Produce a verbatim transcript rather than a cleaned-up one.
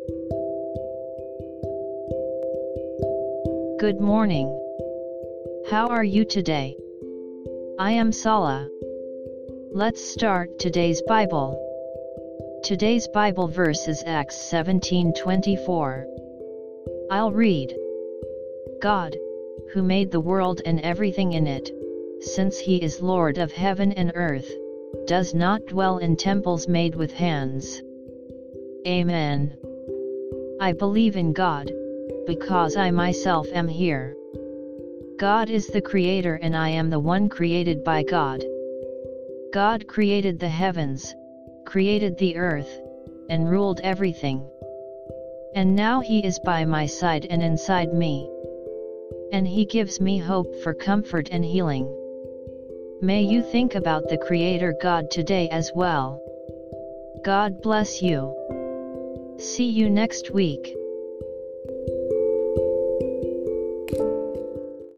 Good morning. How are you today? I am Sala. Let's start today's Bible. Today's Bible verse is Acts seventeen twenty-four. I'll read. God, who made the world and everything in it, since he is Lord of heaven and earth, does not dwell in temples made with hands. Amen. I believe in God, because I myself am here. God is the Creator and I am the one created by God. God created the heavens, created the earth, and ruled everything. And now He is by my side and inside me. And He gives me hope for comfort and healing. May you think about the Creator God today as well. God bless you. See you next week.